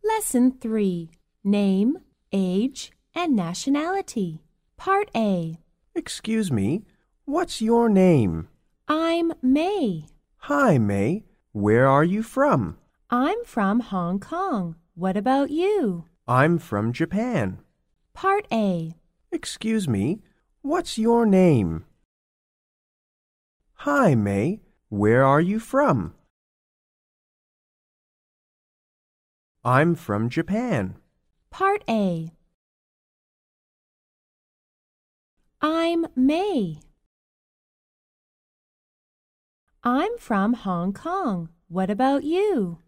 Lesson 3. Name, Age, and Nationality. Part A. Excuse me, what's your name? I'm May. Hi, May. Where are you from? I'm from Hong Kong. What about you? I'm from Japan. Part A. Excuse me, what's your name? Hi, May. Where are you from? I'm from Japan. Part A. I'm May. I'm from Hong Kong. What about you?